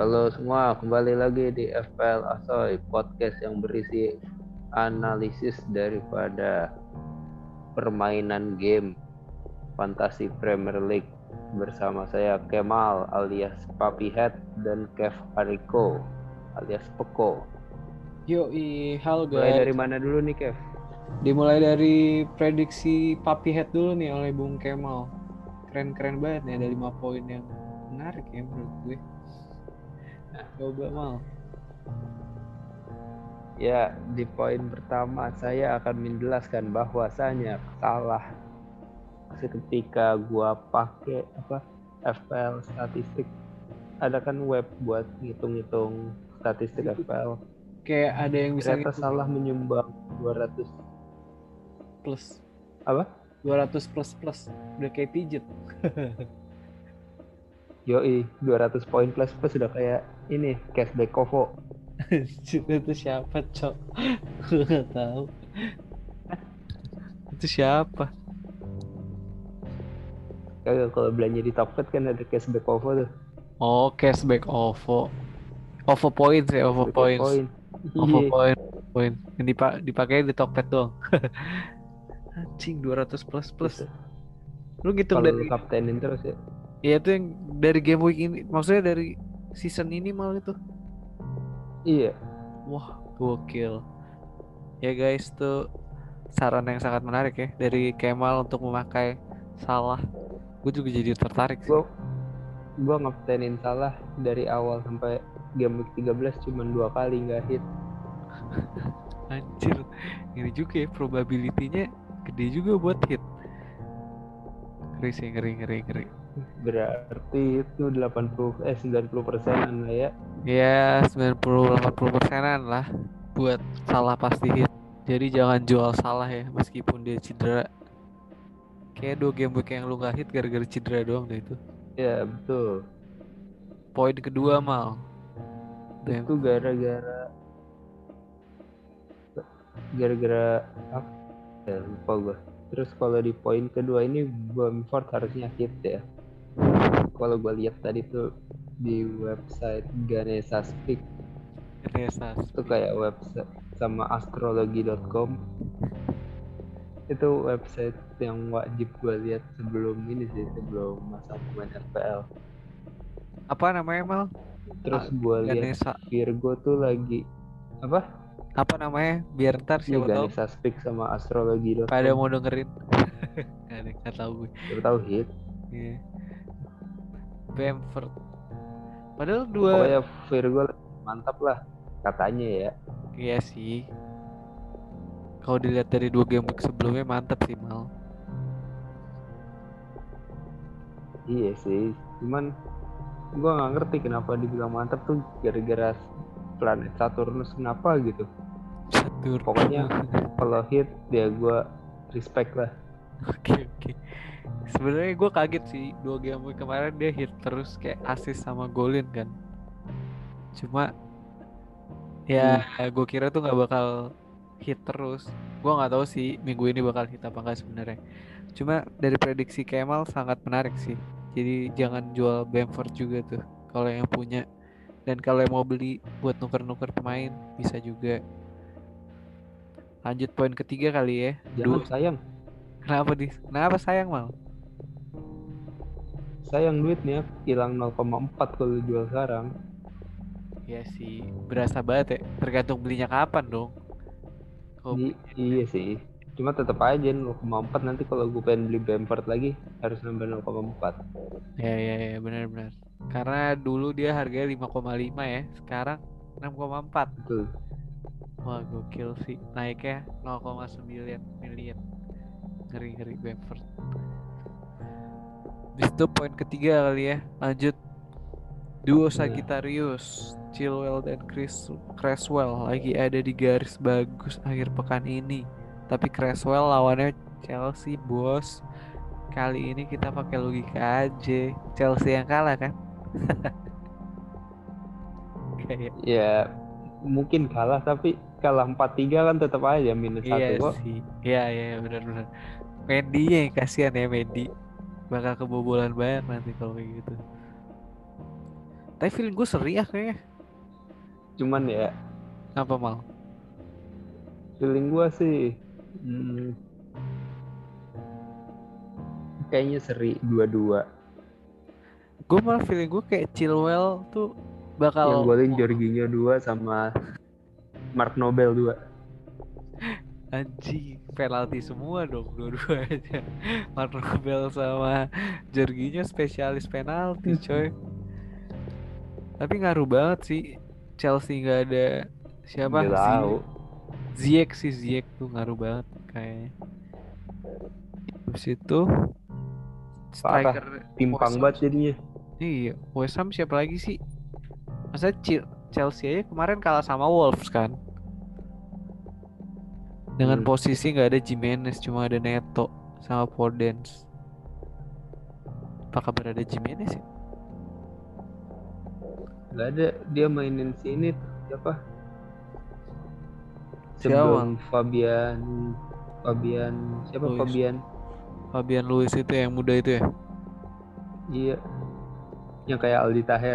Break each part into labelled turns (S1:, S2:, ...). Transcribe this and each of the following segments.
S1: Halo semua, kembali lagi di FPL Asoy, podcast yang berisi analisis daripada permainan game Fantasi Premier League bersama saya Kemal alias Papi Head dan Kev Ariko alias Peko.
S2: Yoi, halo
S1: Mulai dari
S2: guys.
S1: mana dulu nih Kev?
S2: Dimulai dari prediksi Papi Head dulu nih oleh Bung Kemal. Keren-keren banget nih, ada 5 poin yang menarik ya menurut gue. Coba Mal.
S1: Ya, di poin pertama saya akan menjelaskan bahwasanya salah ketika gua pakai FPL statistik. Ada kan web buat ngitung-ngitung statistik FPL.
S2: Kayak ada yang bisa
S1: Ternyata salah menyumbang 200
S2: plus.
S1: apa?
S2: 200 plus. Udah kayak pijet.
S1: Yoi, 200 poin plus sudah kayak ini cashback Kovo.
S2: Itu siapa, Cok? Gue gak tahu. Itu siapa?
S1: Kalau belanja di Tokped kan ada cashback Kovo tuh.
S2: Oh, cashback OVO. OVO points ya, OVO
S1: Cashback
S2: points.
S1: poin.
S2: OVO
S1: Iya.
S2: poin. Yang dipakai di Tokped doang. Anjing 200 plus. Lu ngitung
S1: Kalau lu
S2: dari
S1: kaptenin terus ya.
S2: ya itu yang dari game week ini, maksudnya dari season ini malah itu.
S1: Iya.
S2: Wah, gokil. Ya guys, tuh saran yang sangat menarik ya dari Kemal untuk memakai Salah. Gue juga jadi tertarik sih.
S1: Gua ngaptenin Salah dari awal sampai game week 13 cuma 2 kali nggak hit.
S2: Anjir, ini juga ya probability-nya gede juga buat hit. Ngeri sih, ngeri.
S1: Berarti itu 90% lah ya.
S2: Ya, 90-80%-an lah buat Salah pasti hit. Jadi jangan jual Salah ya meskipun dia cedera. Kayak 2 game week yang lu gak hit gara-gara cedera doang deh itu.
S1: Ya betul.
S2: Poin kedua Mal.
S1: Itu gara-gara apa? Ya, lupa gue. Terus kalau di poin kedua ini Bamford harusnya hit ya. Kalau gue lihat tadi tuh di website Ganesha Speak itu kayak website sama astrologi.com, itu website yang wajib gue lihat sebelum masang pemain FPL.
S2: Apa namanya Mal?
S1: Terus gue lihat
S2: Ganesha.
S1: Virgo tuh lagi apa?
S2: Apa namanya? Biar ntar
S1: Iya,
S2: siapa tahu
S1: Ganesha Speak sama
S2: pada
S1: astrologi.com.
S2: mau dengerin. Gak tahu gue.
S1: Siapa tahu hit.
S2: Iya. Bamford. Padahal dua.
S1: Pokoknya Virgo mantap lah katanya ya.
S2: Iya sih. Kalau dilihat dari 2 game week sebelumnya mantap sih Mal.
S1: Iya sih, cuman gue nggak ngerti kenapa dibilang mantap tuh gara-gara planet Saturnus kenapa gitu.
S2: Catur.
S1: Pokoknya kalau hit ya gue respect lah.
S2: Oke. Sebenarnya gue kaget sih 2 game week kemarin dia hit terus kayak assist sama golin kan. Cuma ya gue kira tuh nggak bakal hit terus. Gue nggak tahu sih minggu ini bakal hit apa enggak sebenarnya. Cuma dari prediksi Kemal sangat menarik sih. Jadi jangan jual Bamford juga tuh kalau yang punya. Dan kalau yang mau beli buat nuker-nuker pemain bisa juga. Lanjut poin ketiga kali ya.
S1: Jangan sayang.
S2: Kenapa sayang Mal?
S1: Sayang duitnya hilang 0,4 kalau jual sekarang.
S2: Ya sih, berasa banget ya. Tergantung belinya kapan dong.
S1: Iya sih. Cuma tetap aja 0,4 nanti kalau gue pengen beli Bamford lagi harus nambah 0,4.
S2: Ya, benar. Karena dulu dia harganya 5,5 ya, sekarang 6,4.
S1: Betul.
S2: Wah, gokil sih. Naiknya 0,9 miliar. Ngeri Bamford. Bis itu poin ketiga kali ya. Lanjut. Duo Sagittarius, Chilwell dan Cresswell lagi ada di garis bagus akhir pekan ini. Tapi Cresswell lawannya Chelsea, bos. Kali ini kita pakai logika aja. Chelsea yang kalah kan? Kayak
S1: Ya mungkin kalah tapi kalah 4-3 kan tetap aja minus 1 kok.
S2: sih. Iya, benar. Mendy yang kasihan ya Mendy. Bakal kebobolan banyak nanti kalau kayak gitu. Tapi feeling gue seri ya kayaknya.
S1: Cuman ya
S2: Apa mal?
S1: feeling gua sih kayaknya seri 2-2.
S2: Gue malah feeling gue kayak Chilwell tuh
S1: Yang
S2: bakal
S1: golin Jorginho 2 sama Mark Nobel 2.
S2: anjing penalti semua dong dua-duanya. Marnobel sama Jorginho spesialis penalti coy. Tapi ngaruh banget sih Chelsea nggak ada
S1: Nggak
S2: siapa
S1: tahu.
S2: Ziyech tuh ngaruh banget kayaknya. Habis itu
S1: Parah.
S2: striker
S1: Timpang
S2: West Ham.
S1: banget jadinya.
S2: Iya, West Ham siapa lagi sih? Masa Chelsea aja kemarin kalah sama Wolves kan? Dengan posisi nggak ada Jimenez, cuma ada Neto sama Podence. Apa kabar ada Jimenez ya?
S1: Nggak ada. Dia mainin sini siapa?
S2: Siapa?
S1: Sebelum Fabian siapa
S2: Luis.
S1: Fabian
S2: Luis itu yang muda itu ya?
S1: Iya, yang kayak Aldi Taher.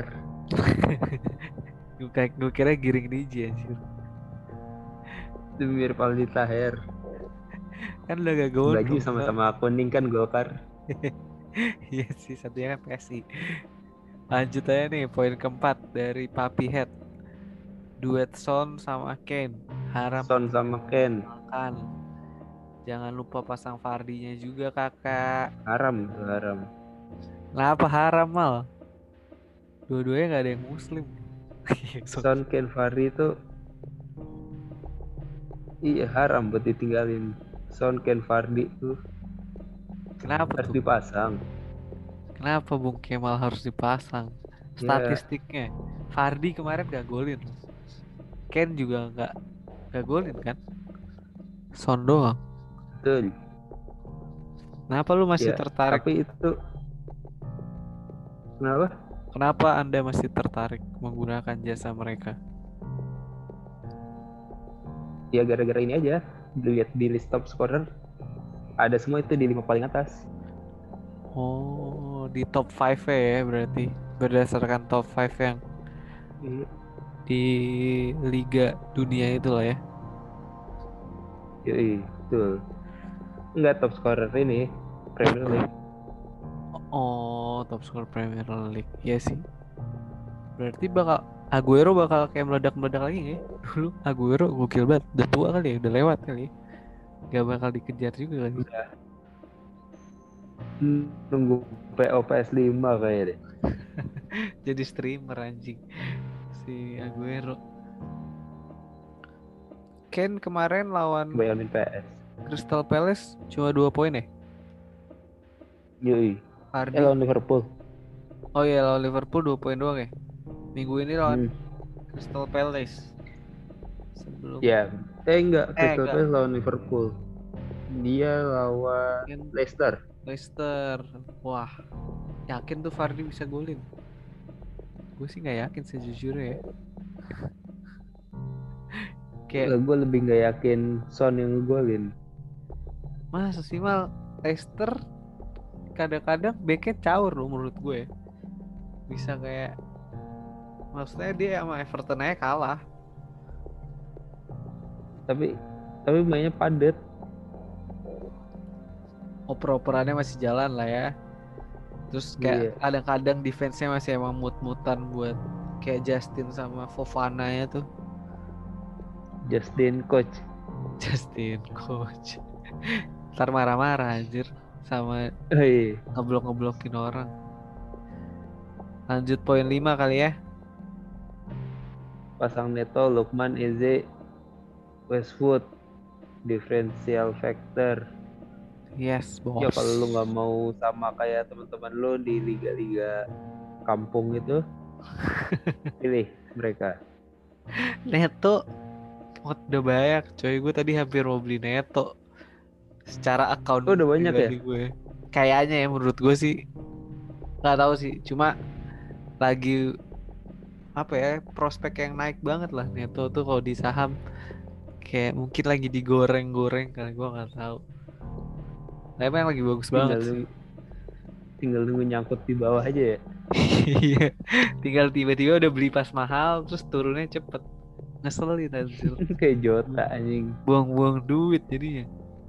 S2: Gue kira Giring Niji anjir.
S1: Itu mirip Aldi Taher.
S2: Kan udah gak
S1: Baju
S2: gondrong.
S1: sama-sama kuning kan Golkar.
S2: Iya sih, satunya kan PSI. Lanjut aja nih, poin keempat dari Papi Head. Duet Son sama Kane. Haram
S1: Son sama Ken.
S2: makan. Jangan lupa pasang Vardy-nya juga kakak.
S1: Haram tuh, haram.
S2: Kenapa haram mal? Dua-duanya gak ada yang muslim.
S1: Son Ken Vardy itu iya haram buat ditinggalin. Son Ken Vardy tuh
S2: Kenapa
S1: harus
S2: tuh?
S1: dipasang.
S2: Kenapa Bung Kemal harus dipasang?
S1: Ya,
S2: Statistiknya, Vardy kemarin gak golin. Ken juga gak golin kan? Son doang.
S1: betul.
S2: Kenapa lu masih
S1: Ya,
S2: tertarik?
S1: tapi itu kenapa?
S2: Kenapa Anda masih tertarik menggunakan jasa mereka?
S1: Ya gara-gara ini aja. Dilihat di list top scorer ada semua itu di 5 paling atas.
S2: Oh, di top 5 ya berarti berdasarkan top 5 yang
S1: Iya.
S2: di Liga Dunia itu lah ya.
S1: Yoi, betul. Enggak top scorer ini Premier League.
S2: Oh, top skor Premier League. Iya sih. Berarti Aguero bakal kayak meledak-meledak lagi ya. Dulu Aguero gokil banget. Udah tua kali ya, udah lewat kali ya. Gak bakal dikejar juga kali.
S1: Udah. Nunggu PO PS5 kayaknya deh.
S2: Jadi streamer anjing si Aguero. Ken kemarin lawan
S1: Bayangin PS.
S2: Crystal Palace cuma 2 poin ya?
S1: Yoi.
S2: Vardy.
S1: Lawan Liverpool.
S2: Oh iya, lawan Liverpool 2 poin doang ya. Minggu ini lawan Crystal Palace. Sebelum
S1: Ya, enggak, Crystal
S2: enggak.
S1: Palace lawan Liverpool. Dia lawan Leicester.
S2: Wah, yakin tuh Vardy bisa golin? Gue sih nggak yakin sejujurnya ya. Kayak
S1: Gue lebih nggak yakin Son yang ngegolin.
S2: masa sih mal Leicester kadang-kadang backnya caur loh menurut gue. Bisa kayak maksudnya dia sama Everton aja kalah.
S1: Tapi mainnya padat.
S2: Oper-operannya masih jalan lah ya. Terus kayak kadang-kadang defense-nya masih emang mut-mutan buat kayak Justin sama Fofana ya tuh.
S1: Justin coach.
S2: Ntar marah-marah anjir sama ngeblok-ngeblokin orang. Lanjut poin 5 kali ya.
S1: Pasang Neto, Lukman, Eze, Westwood, differential factor.
S2: Yes, bos.
S1: Ya kalau lu nggak mau sama kayak teman-teman lu di liga-liga kampung itu, pilih mereka.
S2: Neto udah banyak coy, gue tadi hampir mau beli Neto secara account
S1: udah banyak ya
S2: gue. Kayaknya ya menurut gue sih nggak tahu sih, cuma lagi apa ya, prospek yang naik banget lah Neto tuh kalau di saham, kayak mungkin lagi digoreng-goreng kali, gue nggak tahu. Tapi emang lagi bagus banget sih.
S1: tinggal nunggu nyangkut di bawah aja ya.
S2: Iya, tinggal tiba-tiba udah beli pas mahal terus turunnya cepet. Ngeselin anjir.
S1: Kayak Jota anjing.
S2: Buang-buang duit jadinya.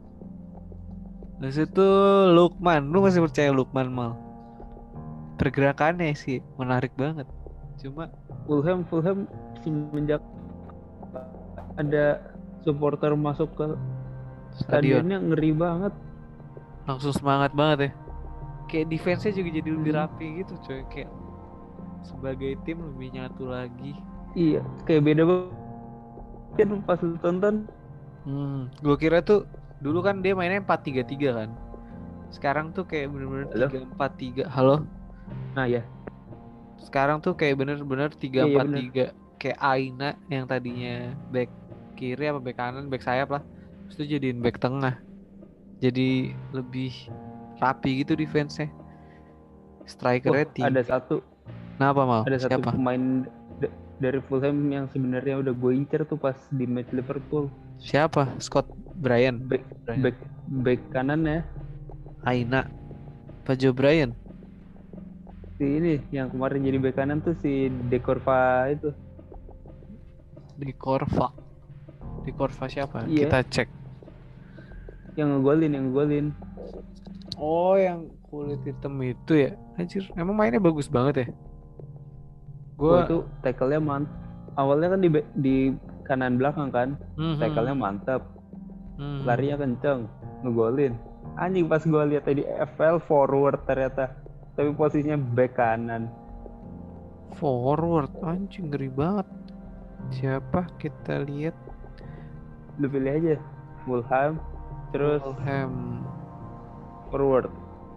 S2: Terus itu Lukman, lu masih percaya Lukman mal? Pergerakannya sih menarik banget. Cuma
S1: Fulham semenjak ada supporter masuk ke
S2: stadion
S1: stadionnya ngeri banget.
S2: langsung semangat banget ya. Kayak defense-nya juga jadi lebih rapi gitu coy. Kayak sebagai tim lebih nyatu lagi.
S1: Iya, kayak beda banget kan pas lu tonton.
S2: Gue kira tuh dulu kan dia mainnya 4-3-3 kan. Sekarang tuh kayak bener-bener
S1: Halo?
S2: 3-4-3. Halo?
S1: Nah ya,
S2: Sekarang tuh kayak bener-bener
S1: iya bener.
S2: 3-4-3. Kayak Aina yang tadinya back kiri apa back kanan, back sayap lah. Terus itu jadiin back tengah. Jadi lebih rapi gitu defense-nya. Strikernya
S1: Ada
S2: 3.
S1: satu
S2: Kenapa mal?
S1: satu
S2: Siapa?
S1: pemain dari Fulham yang sebenarnya udah gue incer tuh pas di match Liverpool.
S2: Siapa? Scott Bryan.
S1: Back back kanan ya.
S2: Aina. Pak Joe Bryan.
S1: Si ini yang kemarin jadi back kanan tuh si De Corva itu.
S2: Di Korva. Di Korva siapa?
S1: Iya.
S2: Kita cek.
S1: Yang ngegolin.
S2: Oh, yang kulit hitam itu ya. Anjir, emang mainnya bagus banget ya.
S1: Gua itu tackle-nya awalnya kan di kanan belakang kan. Tackle-nya mantap. Larinya kenceng, ngegolin. Anjing pas gua lihat tadi FL forward ternyata. Tapi posisinya back kanan.
S2: Forward, anjing ngeri banget. Siapa? Kita lihat.
S1: Lu pilih aja. Fulham, terus
S2: Fulham.
S1: Forward.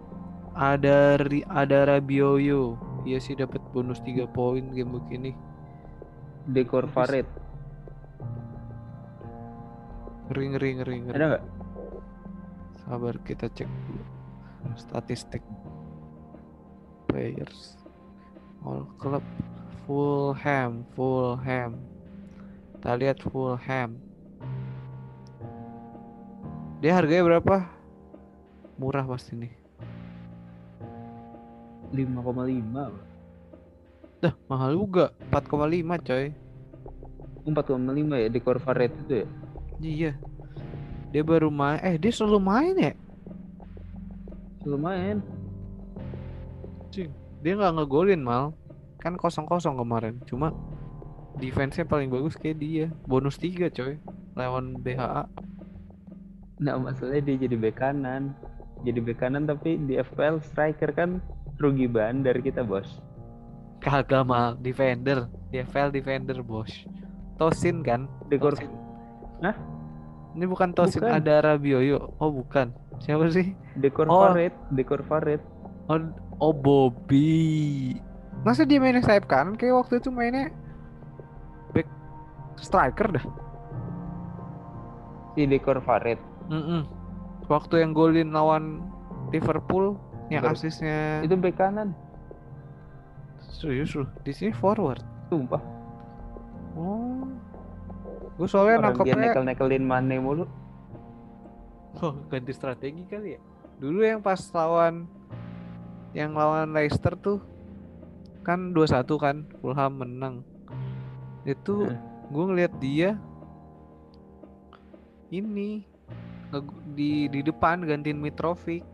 S2: Ada Rabioyo. Iya sih dapat bonus 3 poin game begini.
S1: De Corvaret.
S2: Ngeri.
S1: Ada nggak?
S2: Sabar kita cek dulu. Statistik players. All club Fulham. Kita lihat Fulham. Dia harganya berapa? Murah pasti nih.
S1: 5,5.
S2: Dah, mahal juga. 4,5 coy.
S1: 4,5 ya di Corvaret itu ya?
S2: Iya. Dia baru main. Dia selalu main ya?
S1: Lumayan.
S2: Cing. Dia nggak ngegolin mal. Kan 0-0 kemarin. Cuma defense-nya paling bagus kayak dia. Bonus 3 coy. Lawan BHA.
S1: Nah masalahnya dia jadi bek kanan. Jadi bek kanan tapi di FPL striker kan rugi bandar kita bos.
S2: Kagak mal. Defender. DFL defender bos. Tosin kan? Tosin.
S1: Hah?
S2: Ini bukan Tosin,
S1: bukan.
S2: ada Rabioyo. Oh bukan. Siapa sih?
S1: De Corvaret.
S2: Oh Bobby. Masa dia mainnya sayap kanan? Kayak waktu itu mainnya back striker dah.
S1: Si De Corvaret.
S2: Waktu yang golin lawan Liverpool yang asisnya
S1: itu bek kanan.
S2: Serius loh. Di sini forward.
S1: Sumpah.
S2: Oh. Gue soalnya nangkepnya
S1: nekelin Mane mulu.
S2: Oh, ganti strategi kali ya. Dulu yang pas lawan Leicester tuh kan 2-1 kan, Fulham menang. Itu gue ngeliat dia ini di depan gantiin Mitrovic.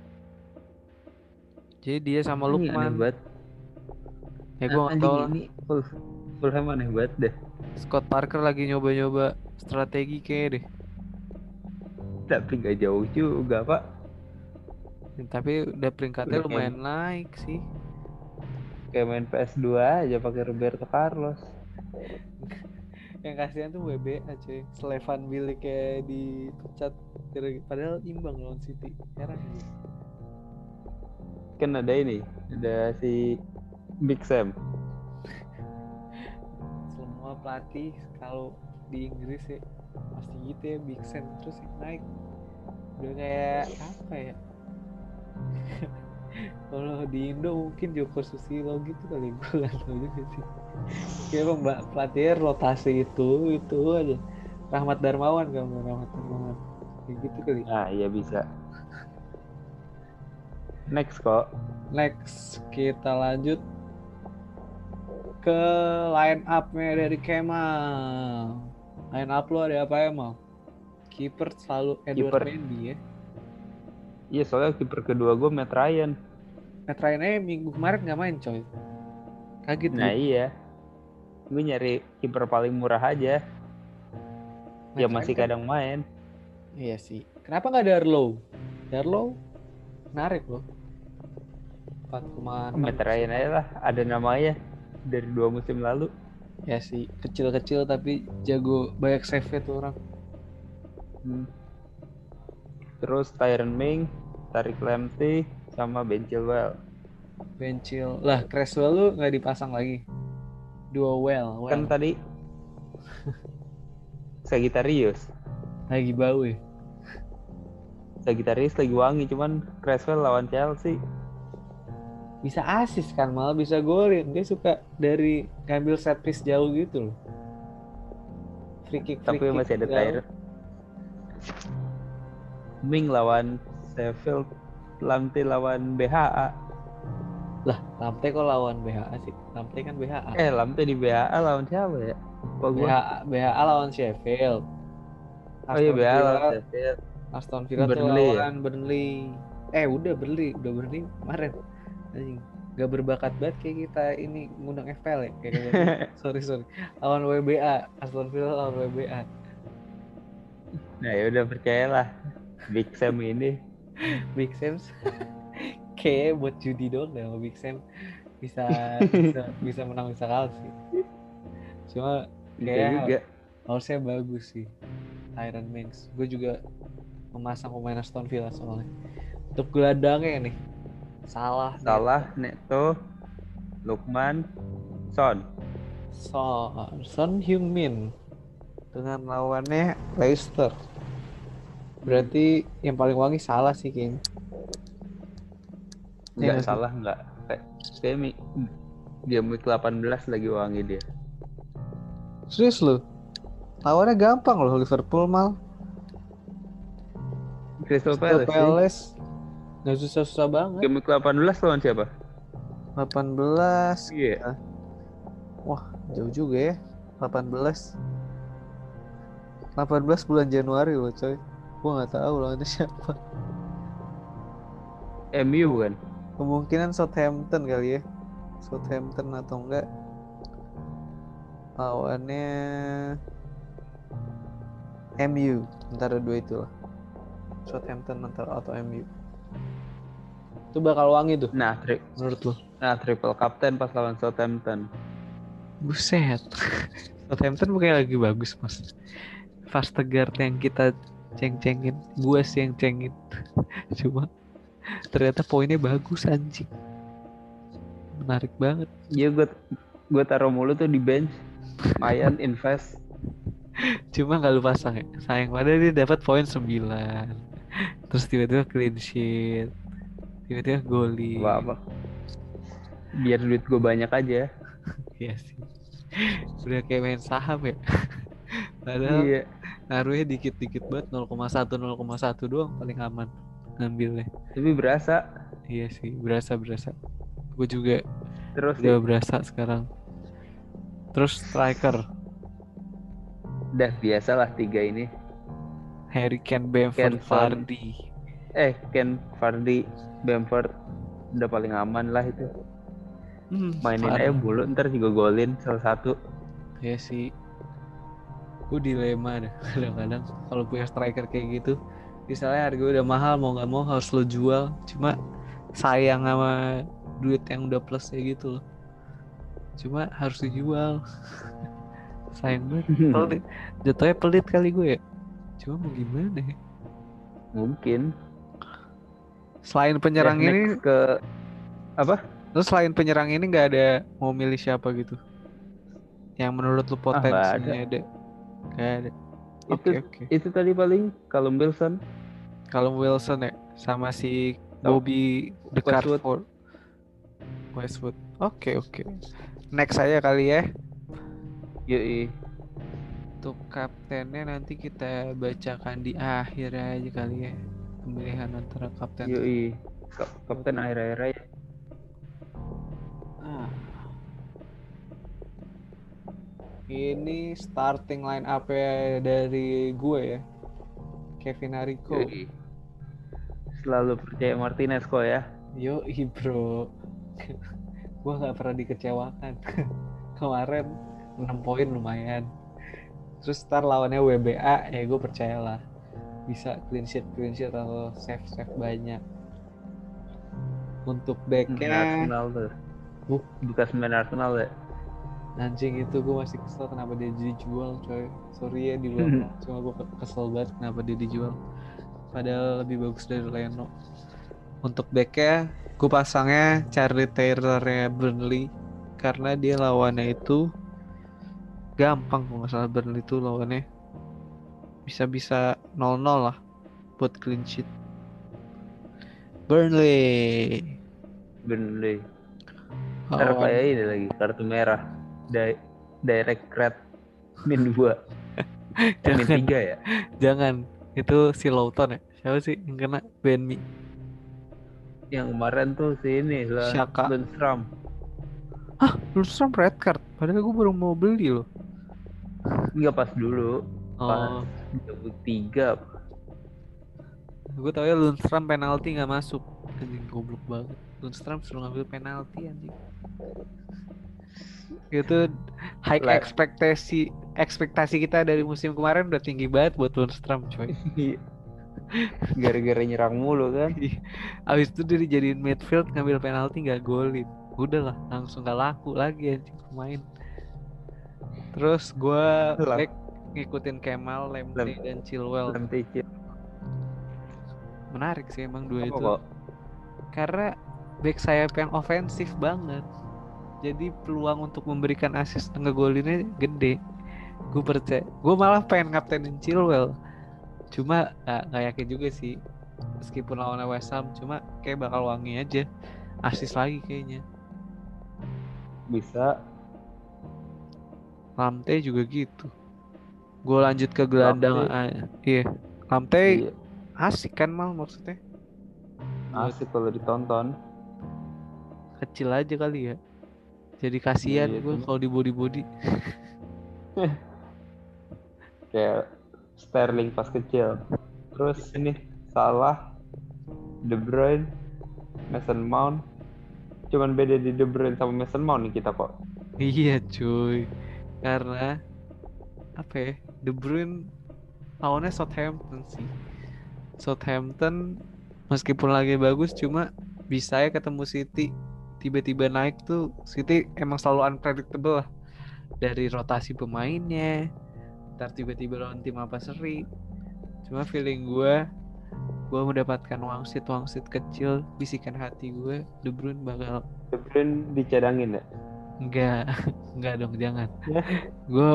S2: Jadi dia sama Lukman. Ya gue nggak tahu lah.
S1: Ini Fulham aneh banget deh.
S2: Scott Parker lagi nyoba-nyoba strategi kayak deh.
S1: Tapi nggak jauh juga pak.
S2: Ya, tapi udah peringkatnya lumayan naik sih.
S1: Kayak main PS2 aja pakai Roberto Carlos.
S2: Yang kasihan tuh WBA cuy. Slevan Bilic kayak dipecat. Padahal imbang lawan City. Heran aja.
S1: Kan ada ini, ada si Big Sam.
S2: Semua pelatih kalau di Inggris ya pasti gitu ya, Big Sam terus yang naik. Udah kayak apa ya? Kalau di Indo mungkin Joko Susilo gitu kali, gue nggak tahu juga sih. Kayak mbak pelatihnya rotasi itu aja. Rahmat Darmawan kayak gitu kali.
S1: Ah iya bisa. Next kok.
S2: Next kita lanjut ke line up-nya dari Kemal. Line up lo ada apa Mal? Kiper selalu Edward
S1: Kiper.
S2: Mendy ya.
S1: Iya, soalnya kiper kedua gue Matt Ryan.
S2: Matt Ryan minggu kemarin nggak main coy. Kaget
S1: Nah
S2: gue.
S1: iya, gue nyari kiper paling murah aja. Ya masih
S2: kan
S1: kadang main.
S2: Iya sih. Kenapa nggak Darlow? Darlow menarik loh. 4,6.
S1: Matt Ryan aja lah, ada namanya dari 2 musim lalu.
S2: Ya sih, kecil-kecil tapi jago, banyak save tuh orang.
S1: Terus Tyron Ming, Tariq Lamptey, sama Ben Chilwell.
S2: Ben Chilwell. Lah, Cresswell lu nggak dipasang lagi. Dua well.
S1: Kan tadi Sagittarius.
S2: Lagi bau ya.
S1: Sagittarius lagi wangi, cuman Cresswell lawan Chelsea.
S2: Bisa asis kan, malah bisa golin. Dia suka dari ngambil set piece jauh gitu loh. Free kick.
S1: Tapi masih ada Tyron Ming lawan Sheffield, Lamptey lawan BHA.
S2: Lah, Lamptey kok lawan BHA sih? Lamptey kan BHA.
S1: Lamptey di BHA lawan siapa ya?
S2: BHA lawan Sheffield.
S1: Oh iya, BHA lawan Sheffield.
S2: Aston Villa tuh lawan Burnley. Udah Burnley kemarin. Gak berbakat banget kayak kita ini ngundang FPL ya. Sorry. Lawan WBA, Aston Villa lawan WBA.
S1: Nah ya udah, percayalah Big Sam ini.
S2: Big Sam kayak buat judi doang deh. Big Sam bisa menang bisa kalah sih. Cuma kayak harusnya bagus sih Tyron Mings. Gue juga memasang pemain Aston Villa soalnya. Untuk gelandangnya nih Salah,
S1: Neto, Lukman, Son
S2: Heung-min dengan lawannya Leicester. Berarti yang paling wangi Salah sih kayaknya.
S1: Enggak salah, enggak. Kayak dia week 18 lagi wangi dia.
S2: Serius lu? Lawannya gampang loh, Liverpool mal.
S1: Crystal Palace.
S2: Nggak susah-susah banget.
S1: Game week 18 lawan siapa?
S2: 18.
S1: Iya.
S2: Wah, jauh juga ya. 18 bulan Januari loh coy. Gua nggak tahu lawannya siapa.
S1: MU kan?
S2: Kemungkinan Southampton kali ya. Southampton atau enggak lawannya MU. Antara dua itulah. Southampton atau MU. Itu bakal wangi tuh. Menurut lo?
S1: Triple captain pas lawan Southampton.
S2: Buset. Southampton bukannya lagi bagus mas. Vestergaard yang kita ceng-cengin, gue sih yang cengin. Cuma ternyata poinnya bagus anjing. Menarik banget.
S1: Iya, gue taruh mulu tuh di bench. Mayan invest.
S2: Cuma gak lu pasang ya. Sayang padahal dia dapat poin 9. Terus tiba-tiba clean sheet. Tiba-tiba golin.
S1: Apa? Biar duit gue banyak aja.
S2: Iya sih. Udah kayak main saham ya. Padahal ngaruhnya dikit-dikit banget, 0,1 doang paling aman ngambilnya.
S1: Tapi berasa.
S2: Iya sih, berasa. Gue juga
S1: terus
S2: udah berasa sekarang. Terus striker.
S1: Udah biasalah 3 ini.
S2: Harry Kane, Bamford, Vardy.
S1: Kane, Vardy, Bamford udah paling aman lah itu. Mainin aja mulu, ntar juga golin salah satu.
S2: Ya sih. Gue dilema deh kadang-kadang kalau punya striker kayak gitu. Misalnya harga udah mahal, mau nggak mau harus lo jual. Cuma sayang sama duit yang udah plus kayak gitu loh. Cuma harus dijual. Sayang banget. Jatuhnya pelit kali gue ya. Cuma mau gimana ya?
S1: Mungkin.
S2: Selain penyerang ini
S1: ke apa?
S2: Terus selain penyerang ini nggak ada mau milih siapa gitu? Yang menurut lu potensinya ada? Gak ada. Oke.
S1: Itu tadi paling Callum Wilson
S2: ya, sama si Bobby the Cardboard. Westwood. Oke. Next aja kali ya.
S1: Yoi.
S2: Untuk kaptennya nanti kita bacakan di akhir aja kali ya. Pemilihan antara kapten.
S1: Yoi. Kapten akhir-akhir ya.
S2: Ah, ini starting line up dari gue ya. Kevin Arico.
S1: Yoi. Selalu percaya Martinez kok ya.
S2: Yoi bro. Gue gak pernah dikecewakan. Kemarin 6 poin lumayan. Terus ntar lawannya WBA, ya gue percayalah bisa clean sheet atau save banyak. Untuk backnya
S1: Arsenal tuh. Bekas main Arsenal ya.
S2: anjing itu gue masih kesel kenapa dia dijual coy. Sorry ya dibilang, cuma gue kesel banget kenapa dia dijual. Padahal lebih bagus dari Leno. Untuk backnya gue pasangnya Charlie Taylor-nya Burnley karena dia lawannya itu gampang kalau nggak salah. Burnley itu lawannya bisa 0-0 lah buat clean sheet. Burnley
S1: Ntar kayak ini lagi kartu merah direct red min 2 min 3 ya.
S2: Jangan, itu si Lawton ya. Siapa sih yang kena Ben Mi?
S1: Yang kemarin tuh si ini lah
S2: Shaka.
S1: Lundstram.
S2: Lundstram red card. Padahal gue baru mau beli loh.
S1: Enggak pas dulu. Pas
S2: Oh,
S1: 23.
S2: gue tau ya Lundstram penalti nggak masuk. Anjing goblok banget. Lundstram suruh ngambil penalti anjing. Itu high
S1: Lah.
S2: ekspektasi kita dari musim kemarin udah tinggi banget buat Lundstram coy.
S1: Gara-gara nyerang mulu kan.
S2: Abis itu dia dijadiin midfield ngambil penalti nggak golin. Udahlah langsung gak laku lagi anjing pemain. Terus gue back ngikutin Kemal, Lemte dan Chilwell. Menarik sih emang dua itu.
S1: Kok?
S2: Karena back sayap yang ofensif banget. Jadi peluang untuk memberikan assist ngegolinnya gede. Gue percaya. Gue malah pengen kaptenin Chilwell. Cuma gak yakin juga sih. Meskipun lawannya West Ham, cuma kayak bakal wangi aja. Assist lagi kayaknya.
S1: Bisa.
S2: Lamte juga gitu. Gue lanjut ke gelandang. Iya. Lamte asik kan mal maksudnya.
S1: Asik kalau ditonton.
S2: Kecil aja kali ya. Jadi kasihan gue kalau di body.
S1: Kayak Sterling pas kecil. Terus ini Salah, De Bruyne, Mason Mount. Cuman beda di De Bruyne sama Mason Mount nih kita kok.
S2: Iya cuy. Karena apa ya? De Bruyne lawannya Southampton sih. Southampton meskipun lagi bagus cuma bisa ya ketemu City tiba-tiba naik tuh. City emang selalu unpredictable lah. Dari rotasi pemainnya, ntar tiba-tiba lawan tim apa seri. Cuma feeling gue mendapatkan wangsit kecil, bisikan hati gue, De Bruyne bakal.
S1: De Bruyne dicadangin ya?
S2: Enggak dong, jangan. Gue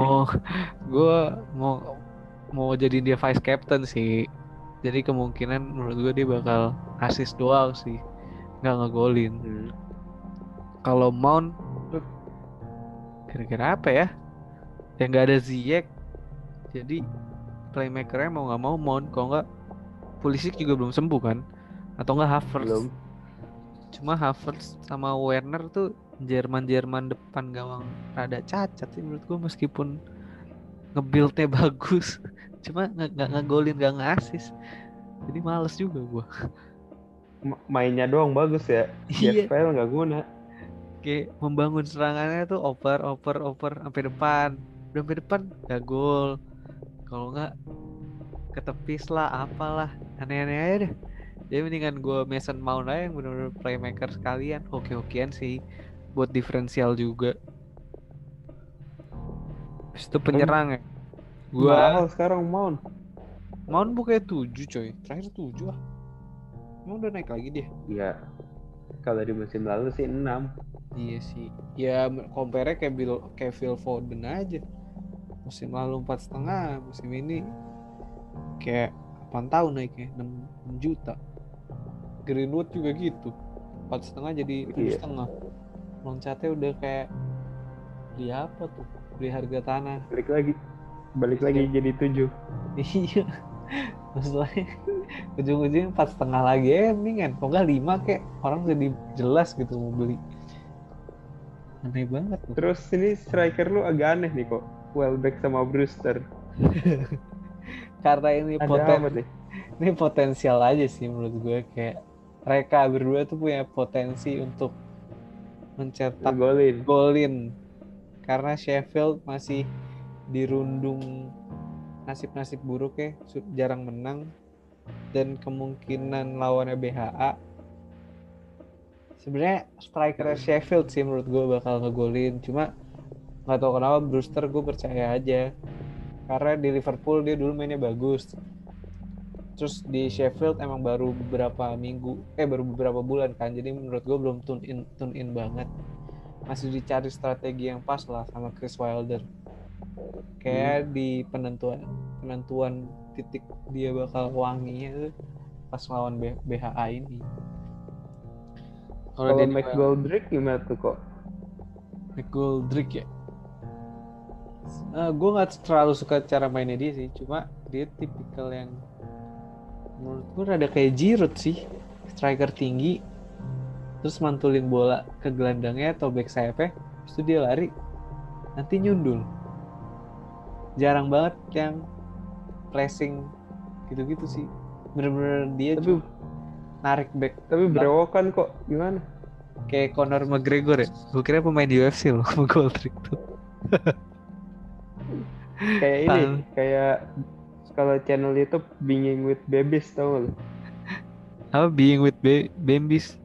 S2: mau jadi dia vice captain sih. Jadi kemungkinan menurut gue dia bakal assist doang sih, nggak ngegolin. Kalau Mount kira-kira apa ya? Yang nggak ada Ziyech, jadi playmakernya mau nggak mau Mount. Kalau nggak Pulisic juga belum sembuh kan? Atau nggak Havertz?
S1: Belum.
S2: Cuma Havertz sama Werner tuh Jerman depan gawang rada cacat sih menurut gue, meskipun nge-build-nya bagus. Cuma nggak ngegolin, nggak nge-assist. Jadi males juga gue.
S1: Mainnya doang bagus ya.
S2: Iya.
S1: FPL nggak guna.
S2: Kayak membangun serangannya tuh oper sampai depan. Udah sampai depan gak gol. Kalau nggak ketepis lah, apalah aneh-aneh aja deh. Jadi mendingan gue Mason Mount aja yang bener-bener playmaker sekalian. Oke-okean sih buat diferensial juga. Terus itu penyerang ya.
S1: Mahal sekarang Mount
S2: bukannya 7 coy. Terakhir 7 ah. Emang udah naik lagi dia?
S1: Iya. Kalau di musim lalu sih 6.
S2: Iya sih. Ya compare kayak Phil Foden aja. Musim lalu 4,5, musim ini kayak 8 tahun naiknya 6 juta. Greenwood juga gitu, 4,5 jadi 7,5. Loncatnya udah kayak beli apa tuh? Beli harga tanah.
S1: Balik lagi jadi 7.
S2: Iya. Masalahnya ujung-ujungnya 4,5 lagi mendingan, kok nggak 5 kek, orang jadi jelas gitu mau beli. Aneh banget loh.
S1: Terus ini striker lu agak aneh nih kok. Welbeck sama Brewster.
S2: Karena ini
S1: Ada apa nih?
S2: ini potensial aja sih menurut gue, kayak mereka berdua tuh punya potensi untuk mencetak
S1: Ngegolin.
S2: golin, karena Sheffield masih dirundung nasib-nasib buruk ya, jarang menang, dan kemungkinan lawannya BHA. Sebenarnya striker Sheffield sih menurut gue bakal ngegolin, cuma nggak tahu kenapa Brewster gue percaya aja, karena di Liverpool dia dulu mainnya bagus, terus di Sheffield emang baru beberapa bulan kan, jadi menurut gue belum tune in banget, masih dicari strategi yang pas lah sama Chris Wilder, kayak di penentuan titik dia bakal wanginya tuh pas lawan BHA ini.
S1: Kalau McGoldrick gimana tuh kok?
S2: McGoldrick ya, gue nggak terlalu suka cara mainnya dia sih, cuma dia tipikal yang menurut gue rada kayak Giroud sih, striker tinggi, terus mantulin bola ke gelandangnya atau back sayapnya, terus itu dia lari, nanti nyundul. Jarang banget yang pressing gitu-gitu sih, bener-bener dia
S1: Tapi
S2: narik back.
S1: Tapi berewokan kok, gimana?
S2: Kayak Conor McGregor ya, gue kira pemain UFC loh, McGoldrick tuh.
S1: Kayak ini, kayak kalau channel YouTube Being with Babies, tau lo?
S2: Apa Being with Bambis?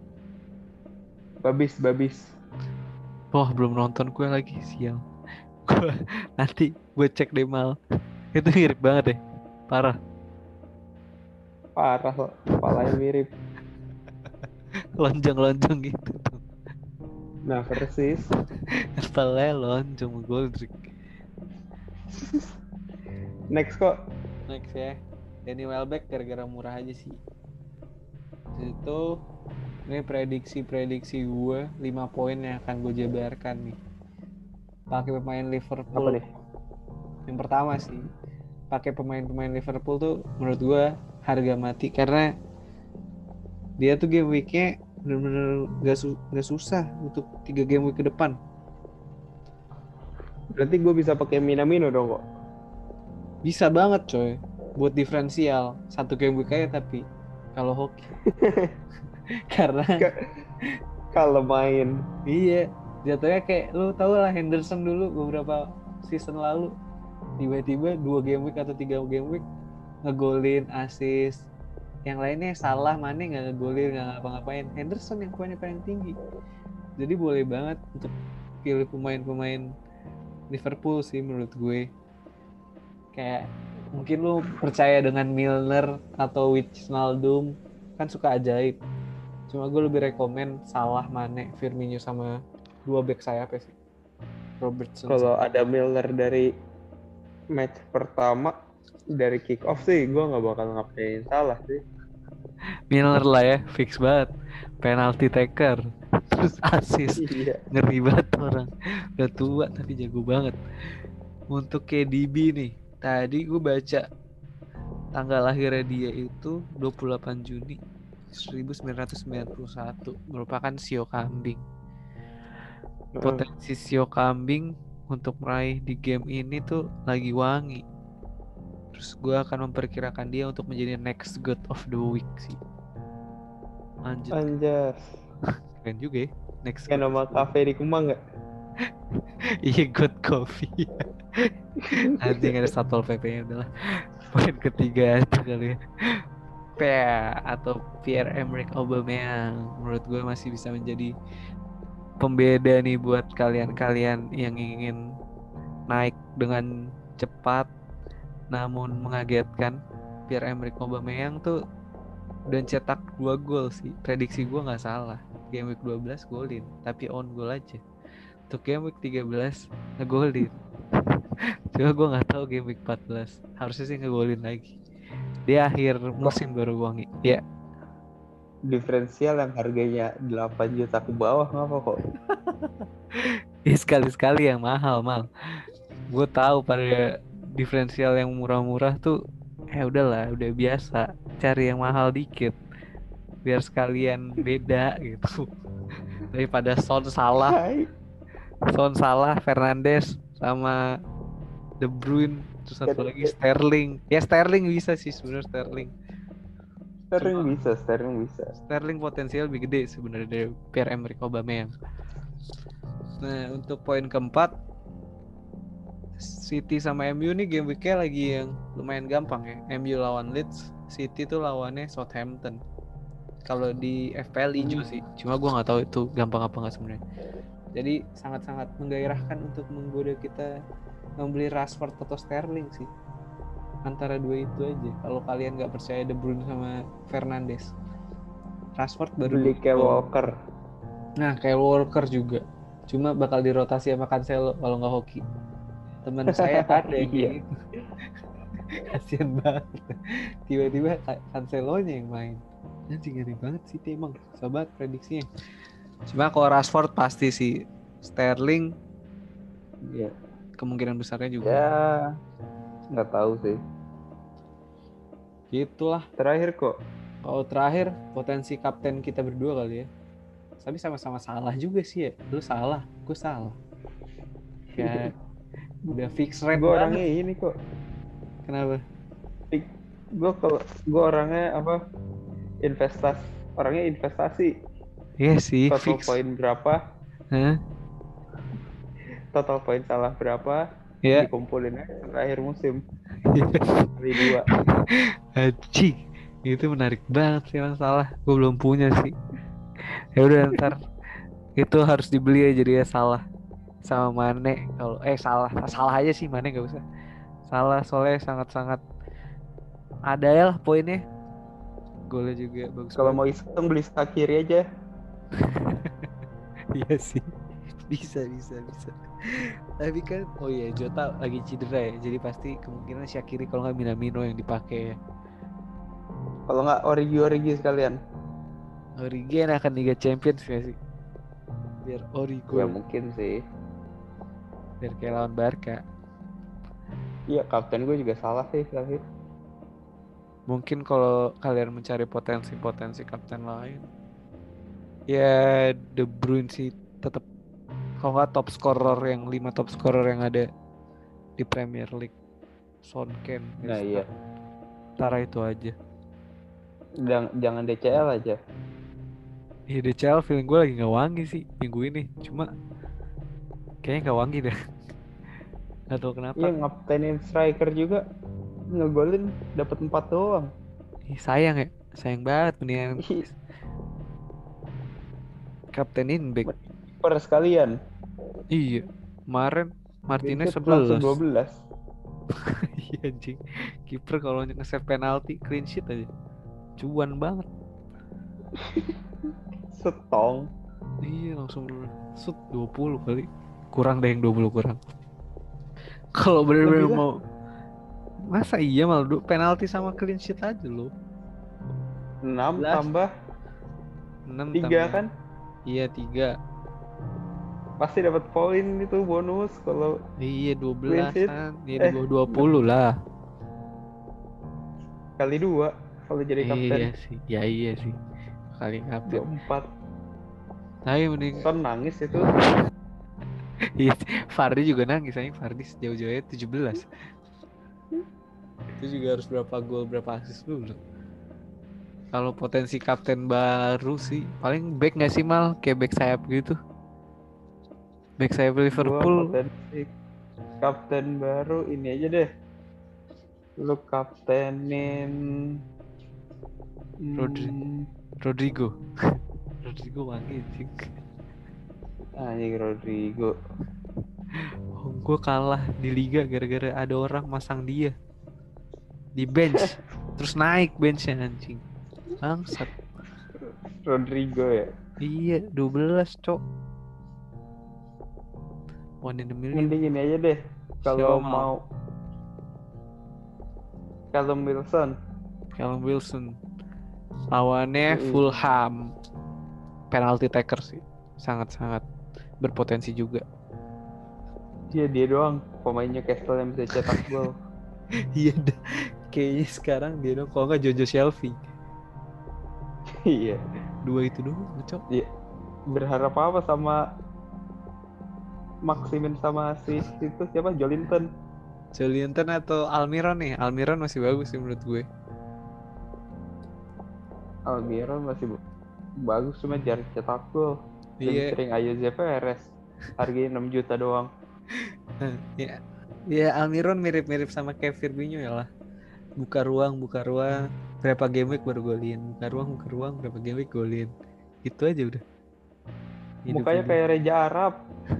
S1: Babis.
S2: Wah, belum nonton gue lagi, sial. Nanti gue cek deh mal. Itu mirip banget deh, parah
S1: kok, kepalanya mirip.
S2: lonjong gitu tuh.
S1: Nah, persis.
S2: Kepalanya lonjong, McGoldrick.
S1: Next kok.
S2: Next ya, Danny Welbeck gara-gara murah aja sih. Itu ini prediksi gue 5 poin yang akan gue jabarkan nih. Pakai pemain Liverpool.
S1: Apa nih?
S2: Yang pertama sih, pakai pemain Liverpool tuh menurut gue harga mati, karena dia tuh game weeknya bener-bener gak susah untuk 3 game week ke depan.
S1: Berarti gue bisa pakai Minamino dong kok?
S2: Bisa banget coy, buat diferensial 1 game week aja, tapi kalau hoki karena
S1: kalau main
S2: iya jatuhnya kayak lu tau lah Henderson dulu beberapa season lalu tiba-tiba 2 game week atau 3 game week ngegolin, assist, yang lainnya salah, Mane nggak ngegolin, nggak ngapa-ngapain, Henderson yang poinnya paling tinggi. Jadi boleh banget untuk pilih pemain-pemain Liverpool sih menurut gue. Kayak mungkin lu percaya dengan Milner atau Wijnaldum, kan suka ajaib. Cuma gue lebih rekomen Salah, Mane, Firmino sama 2 back sayap sih, Robertson.
S1: Kalau ada Milner dari match pertama dari kick off sih gue nggak bakal ngapain Salah sih.
S2: Milner lah ya, fix banget, penalty taker terus assist.
S1: Iya.
S2: Ngeri banget orang, udah tua tapi jago banget. Untuk KDB nih, tadi gue baca tanggal lahirnya dia itu 28 Juni 1991, merupakan sio kambing. Potensi sio kambing untuk meraih di game ini tuh lagi wangi. Terus gue akan memperkirakan dia untuk menjadi next god of the week sih. Lanjut.
S1: Anjas.
S2: Keren juga ya. Next.
S1: Kayak nama kafe di Kemang nggak?
S2: Iya, God Coffee. Anjing ada Satpol PP-nya, udahlah. Poin ketiga itu kali ya. Atau Pierre-Emerick Aubameyang, menurut gue masih bisa menjadi pembeda nih buat kalian-kalian yang ingin naik dengan cepat namun mengagetkan. Pierre-Emerick Aubameyang tuh udah cetak 2 gol sih. Prediksi gue nggak salah. Game week 12 golin, tapi on goal aja. Untuk game week 13 ngegolin. Cuma gue nggak tahu game week 14. Harusnya sih ngegolin lagi. Dia akhir musim baru wangi. Ya.
S1: Diferensial yang harganya 8 juta ke bawah ngapa kok?
S2: Ya sekali-sekali yang mahal mal. Gue tahu pada diferensial yang murah-murah tuh udahlah, udah biasa. cari yang mahal dikit biar sekalian beda gitu. Daripada Son Salah, Fernandes sama De Bruyne, terus satu lagi Sterling. Ya Sterling bisa sih sebenarnya
S1: Sterling bisa.
S2: Sterling potensial lebih gede sebenarnya dari Pierre-Emerick Aubameyang. Nah, untuk poin keempat, City sama MU nih game week-nya lagi yang lumayan gampang ya. MU lawan Leeds, City tuh lawannya Southampton. Kalau di FPL hijau sih, cuma gue nggak tahu itu gampang apa nggak sebenarnya. Jadi sangat-sangat menggairahkan untuk menggoda kita membeli Rashford atau Sterling sih. Antara dua itu aja. Kalau kalian nggak percaya De Bruyne sama Fernandes, Rashford baru
S1: beli Kyle Walker.
S2: Nah, Kyle Walker juga. Cuma bakal dirotasi sama Cancelo kalau nggak hoki. Teman saya ada yang kayak gitu. Kasian banget. Tiba-tiba Cancelo-nya yang main. Anjing ngeri banget sih emang. Sobat prediksinya. Cuma kalau Rashford pasti sih. Sterling
S1: Iya.
S2: kemungkinan besarnya juga.
S1: Ya, nggak tahu sih.
S2: Gitulah.
S1: Terakhir kok.
S2: Kalau terakhir potensi kapten kita berdua kali ya. Tapi sama-sama salah juga sih ya. Lu salah, gue salah. Ya udah fix rate
S1: Gue
S2: banget.
S1: orangnya ini kok.
S2: Kenapa?
S1: Gue orangnya apa? Orangnya investasi.
S2: Iya sih.
S1: Total
S2: Fix.
S1: poin berapa?
S2: Hah?
S1: Total poin salah berapa?
S2: Ya.
S1: Dikumpulin aja akhir musim. Kali 2.
S2: Haji, itu menarik banget sih emang salah. Gue belum punya sih. Ya udah ntar itu harus dibeli aja dia salah sama Mane. Kalau salah aja sih Mane nggak usah. Salah soalnya sangat-sangat ada ya lah poinnya. Golnya juga bagus.
S1: Kalau mau iseng beli Shaqiri aja.
S2: Iya sih. Bisa. Tapi kan Jota lagi cedera ya. Jadi pasti kemungkinan Shaqiri kalau nggak Minamino yang dipakai ya.
S1: Kalau nggak Origi sekalian.
S2: Origi akan Liga Champions ya sih. Biar Origo.
S1: Ya mungkin sih.
S2: Biar kayak lawan Barca.
S1: Iya, kapten gue juga salah sih terakhir.
S2: Mungkin kalau kalian mencari potensi kapten lain, ya De Bruyne sih tetap. Kalau nggak top scorer yang 5 top scorer yang ada di Premier League, Son, Kane,
S1: Nah iya.
S2: Tara itu aja.
S1: Jangan DCL aja.
S2: Iya DCL feeling gue lagi nggak wangi sih minggu ini. Cuma kayaknya nggak wangi deh. Nggak tahu kenapa.
S1: Iya, ngaptenin striker juga ngegolin dapat 4 doang.
S2: Sayang banget mendingan kaptenin back.
S1: Per sekalian.
S2: Iya, kemarin Martinez 11.
S1: 12.
S2: Iya anjing. Kiper kalau nge-save penalti clean sheet aja. Cuan banget.
S1: Setong.
S2: Iya langsung shoot 20 kali. Kurang deh yang 20 kurang. Kalau bener-bener mau masa iya malah penalti sama clean sheet aja lo.
S1: 6 tambah
S2: 6
S1: 3 tambah. Kan?
S2: Iya 3.
S1: Pasti dapat poin itu bonus kalau
S2: iya 12-an. Iya di bawah 20 lah.
S1: Kali 2 kalau jadi kapten.
S2: Iya sih. Ya iya sih. Kali kapten
S1: 24.
S2: Tapi mending
S1: Son nangis itu.
S2: Iya, Fardi juga nangis aja. Fardi jauh-jauhnya 17. Itu juga harus berapa gol, berapa assist dulu. Kalau potensi kapten baru sih paling back nggak sih Mal, kayak back sayap gitu. Back sayap Liverpool.
S1: Potensi kapten baru ini aja deh. Lu kaptenin
S2: Rodrigo. Rodrigo wangi sih.
S1: Anjing Rodrigo.
S2: Gue kalah di liga gara-gara ada orang masang dia di bench terus naik benchnya anjing. Bangsat.
S1: Rodrigo ya.
S2: Iya 12 cok. One in a million.
S1: Mending ini aja deh. Kalau mau Callum Wilson.
S2: Lawannya Fulham. Penalty taker sih. Sangat-sangat berpotensi juga.
S1: Iya dia doang pemainnya Newcastle yang bisa cetak gol.
S2: Iya Kayaknya sekarang dia dong, kalau nggak Jojo Shelby.
S1: Iya.
S2: Dua itu doang, ngecok.
S1: Iya. Berharap apa sama Maximin sama si itu siapa? Jolinton.
S2: Jolinton atau Almiron nih? Almiron masih bagus sih menurut gue.
S1: Almiron masih bagus cuma jarang cetak gol. Lebih
S2: Iya,
S1: sering Ayoze Perez. Harganya 6 juta doang.
S2: ya, ya Almiron mirip-mirip sama kayak Firmino ya lah. Buka ruang, berapa game week baru golin. Buka ruang, berapa game week golin. Itu aja udah. Hidupnya
S1: Mukanya
S2: dia.
S1: kayak Reja Arab.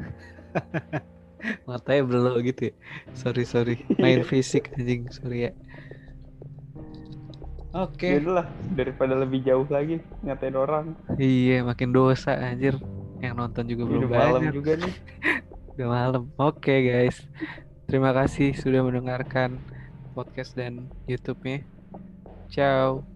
S2: Matanya belok gitu ya. Sorry. Main fisik anjing, sorry ya.
S1: Ya
S2: Oke.
S1: udahlah, daripada lebih jauh lagi ngatain orang.
S2: Iya, makin dosa anjir. Yang nonton juga
S1: Ini
S2: belum
S1: udah malam
S2: banyak.
S1: juga nih.
S2: Udah malam. Oke, guys. Terima kasih sudah mendengarkan podcast dan YouTube-nya. Ciao.